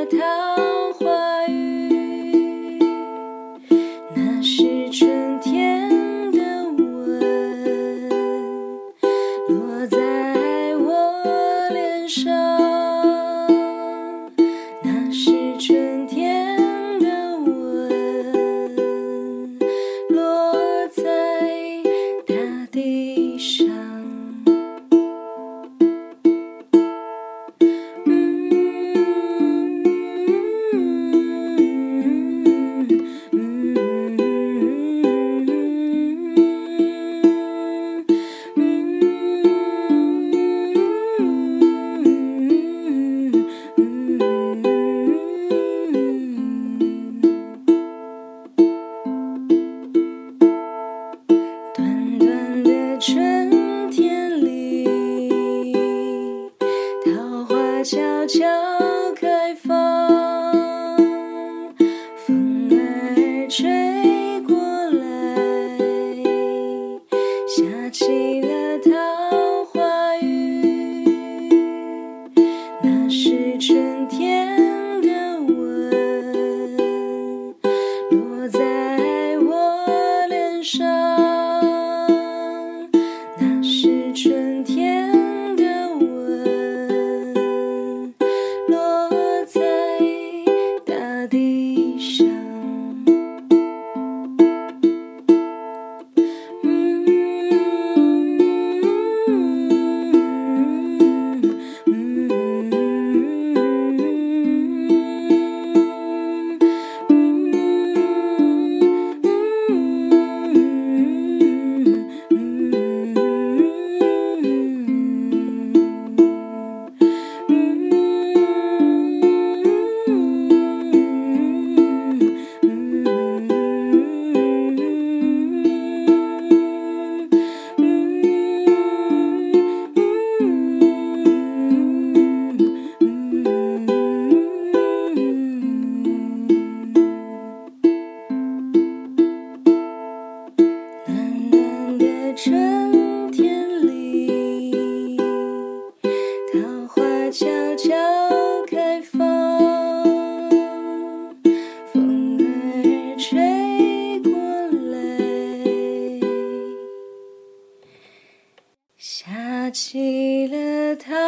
桃花雨，那是春天的吻，落在我脸上，那是春天的吻，落在大地上。短短的春天里，桃花悄悄开放，风儿吹过来，下起了桃花雨，那是春天的吻，落在我脸上，那是春天的吻，落在大地上。暖暖的春天里，桃花悄悄开放，风儿吹过来，下起了桃